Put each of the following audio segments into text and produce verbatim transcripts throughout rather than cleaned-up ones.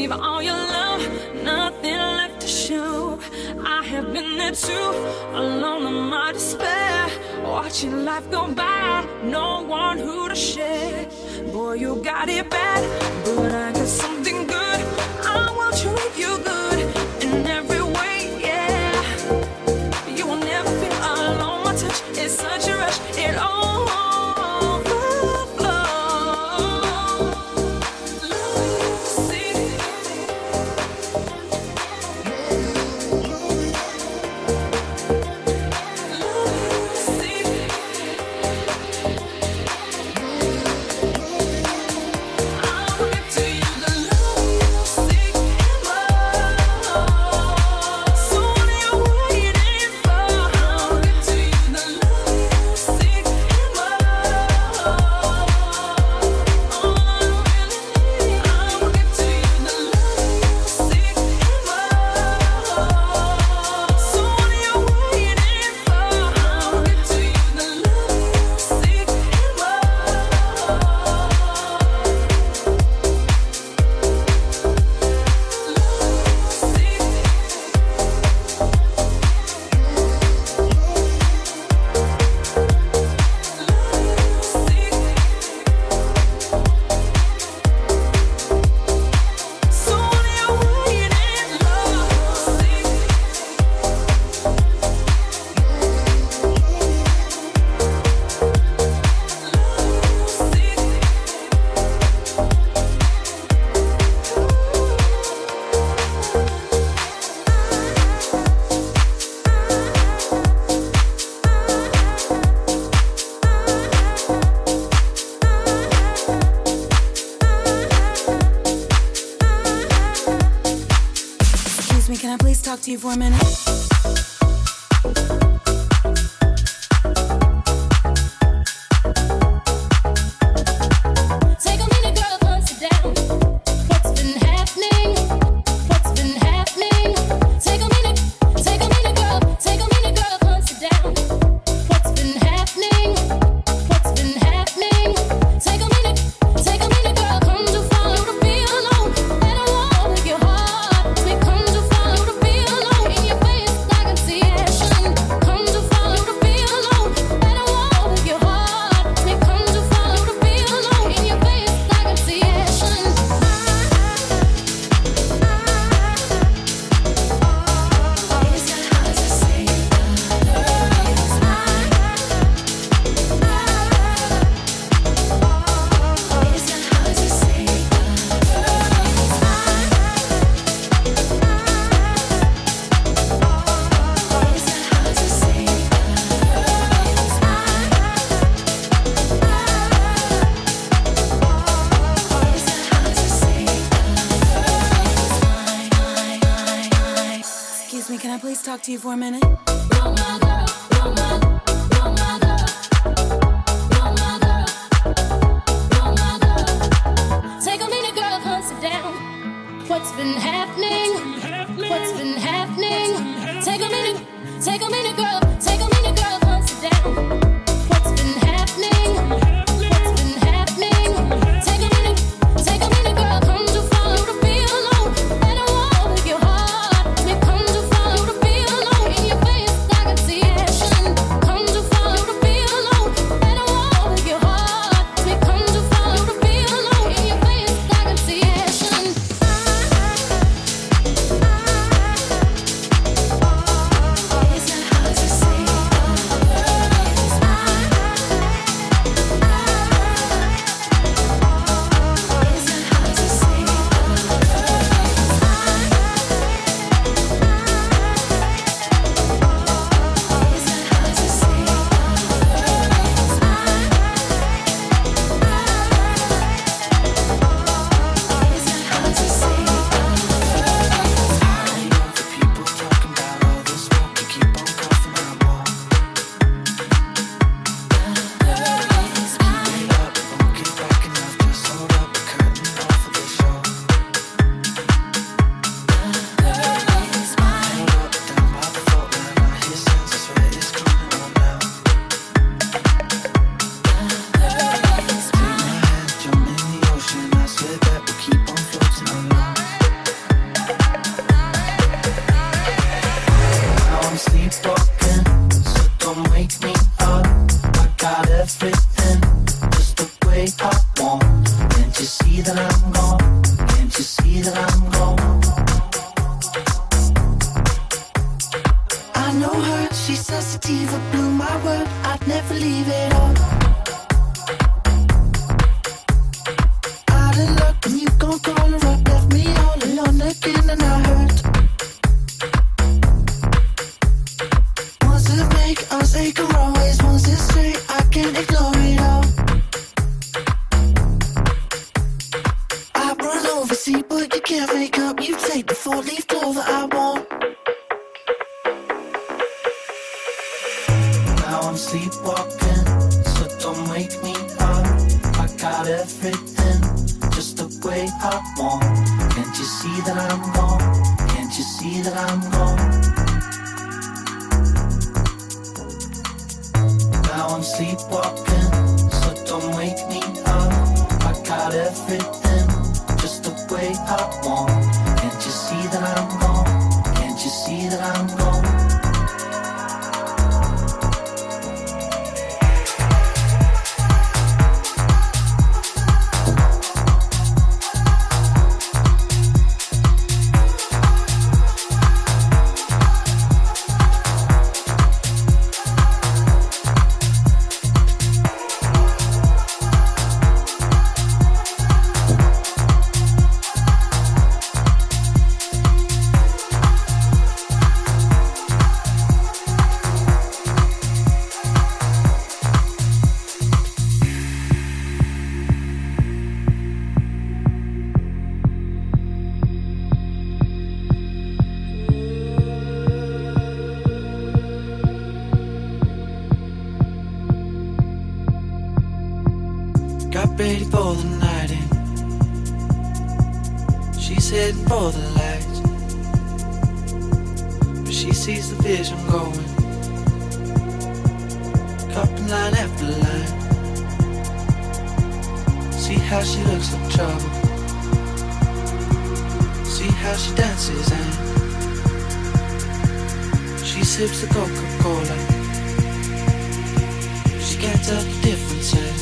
gave all your love, nothing left to show. I have been there too, alone in my despair, watching life go by, no one who to share. Boy, you got it bad, but I got something good. I will treat you good in every way, yeah. You will never feel alone, my touch is such a rush, it all to you for a minute. Talk to you for a minute. Take a minute, girl, come sit down. What's been happening? What's been happening? Take a minute, take a minute, girl. Take a minute, girl, come sit down. What's been happening? What's been happening? Take a minute, take a minute, girl. Come too far to be alone. Let it walk with your heart. We come too far to be alone. In your face, I can see action. Come way I want. Can't you see that I'm gone? Can't you see that I'm gone? I know her, she's sensitive, blew my word, I'd never leave it all. Out of luck, and you gon' call her up, left me all alone again, and I hurt. Once it make us take her always, once it's straight, I can't ignore it all. I run over, see, but you can't make up, you take the four-leaf clover I want. I'm sleepwalking, so don't wake me up. I got everything just the way I want. Can't you see that I'm gone? Can't you see that I'm gone? Now I'm sleepwalking, so don't wake me up. I got everything just the way I want. Can't you see that I'm gone? Can't you see that I'm gone? Ready for the night in. She's heading for the lights, but she sees the vision going, cupping line after line. See how she looks like trouble, see how she dances and she sips the Coca-Cola. She can't tell the difference and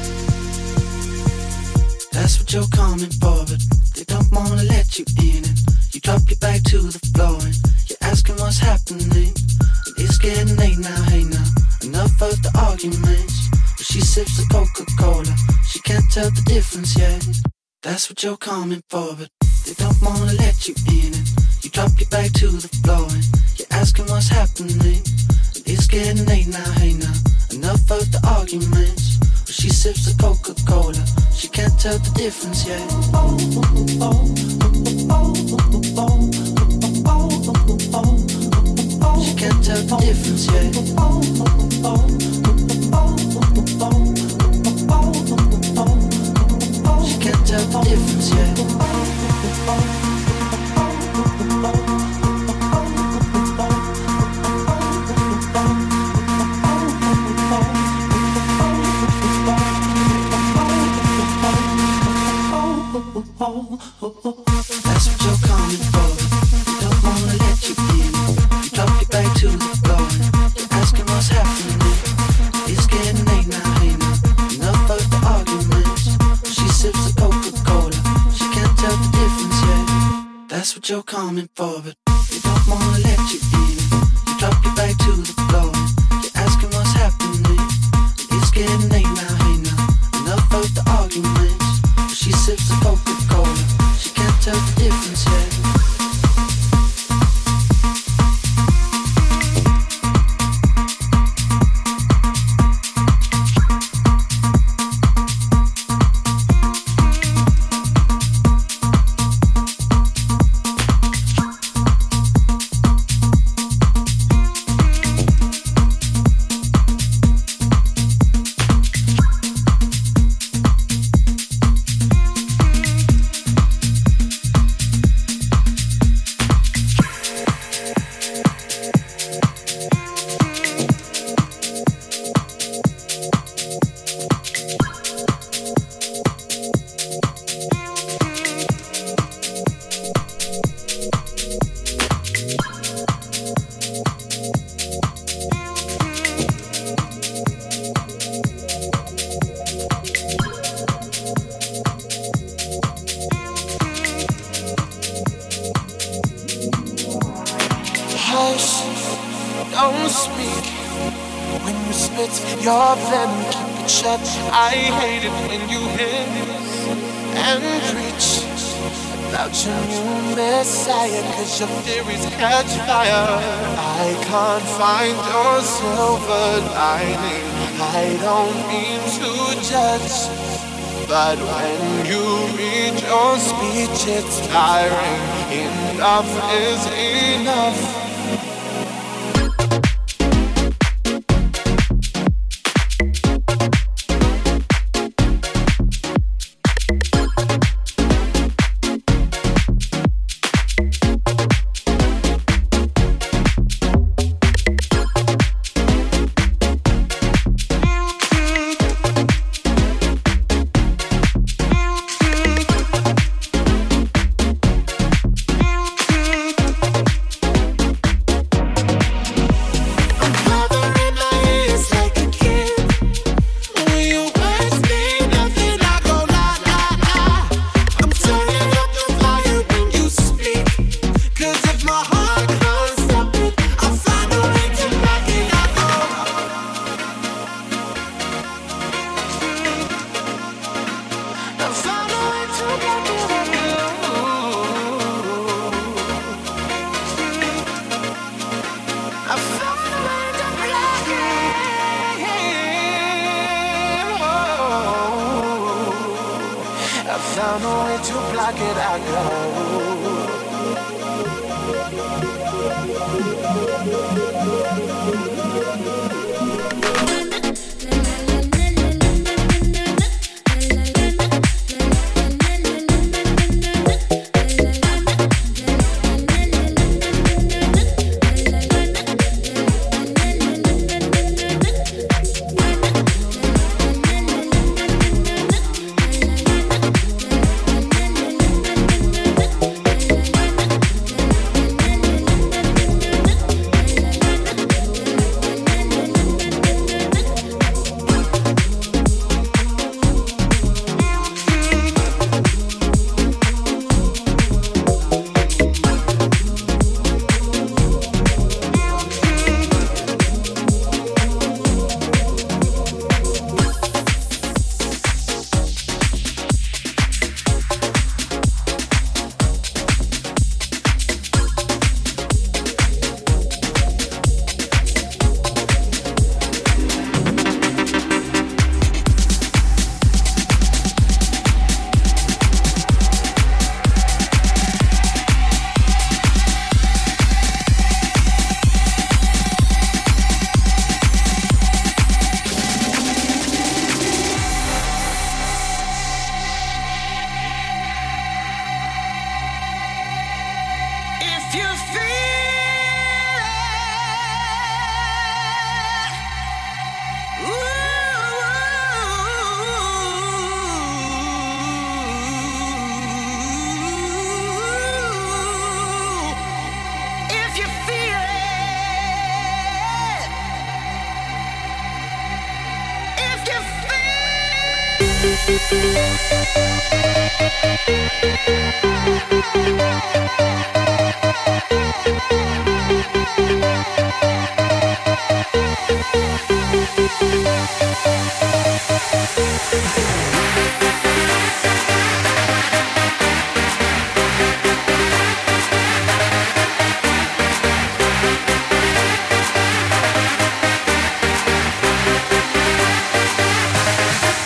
that's what you're coming for, but they don't wanna let you in. And you drop your back to the floor and you're asking what's happening. And it's getting late now, hey now, enough of the arguments. But she sips the Coca-Cola, she can't tell the difference yet. That's what you're coming for, but they don't wanna let you in. And you drop your back to the floor and you're asking what's happening. And it's getting late now, hey now, enough of the arguments. But she sips the Coca-Cola, she can't tell the difference yet. She can't tell the difference yet. She can't tell the difference yet. That's what you're coming for. They don't wanna let you in. You drop your back to the floor and you're asking what's happening. It's getting late now, hey now, enough of the arguments. She sips the Coca-Cola, she can't tell the difference yet. That's what you're coming for, but they don't wanna let you in. You drop your back to the floor and you're asking what's happening. It's getting late now, hey now, enough of the arguments. She sips the Coca-Cola, she can't tell the difference yet. it's your plan, keep it shut. I hate it when you hiss and preach about your new messiah, cause your theories catch fire. I can't find your silver lining. I don't mean to judge, but when you read your speech it's tiring. Enough is enough. Found a way to block it out,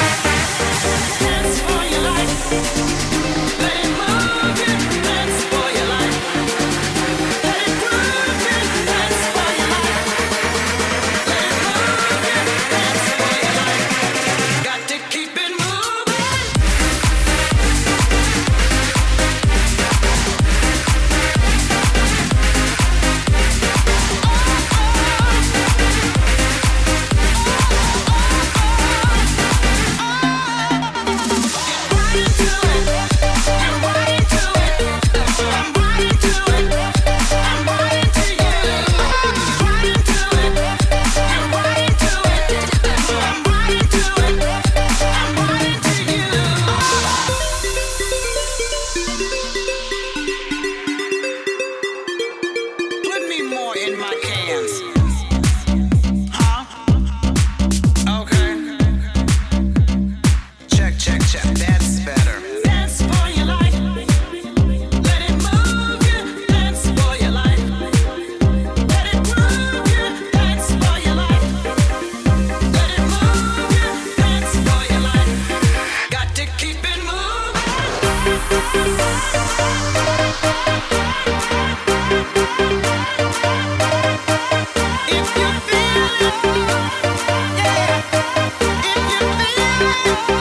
Dance for your life. Let it move you. Dance for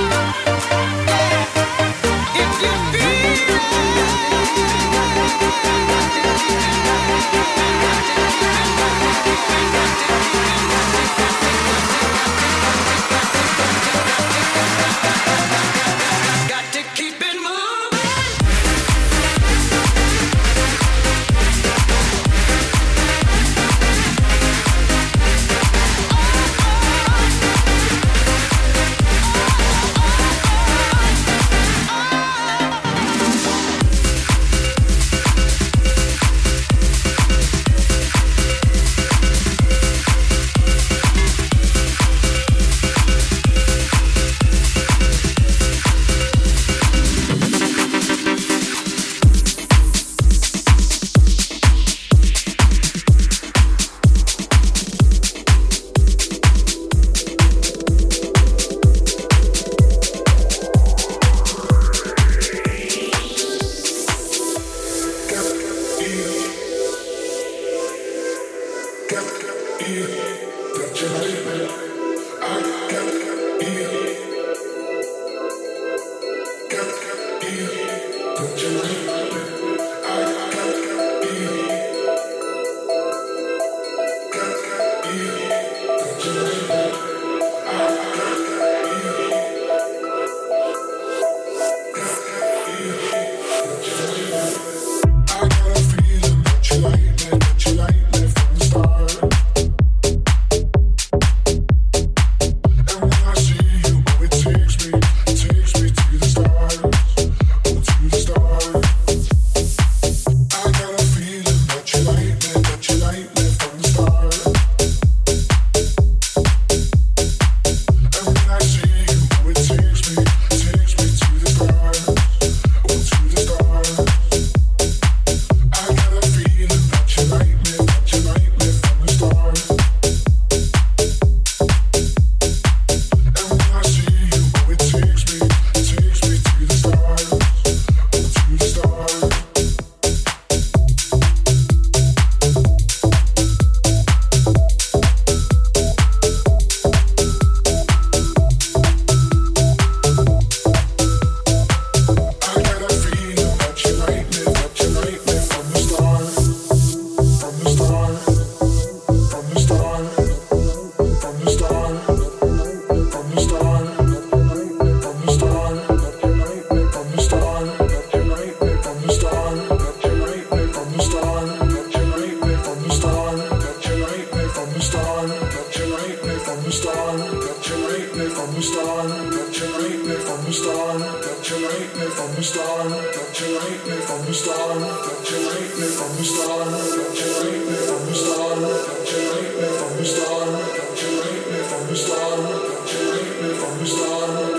From the start.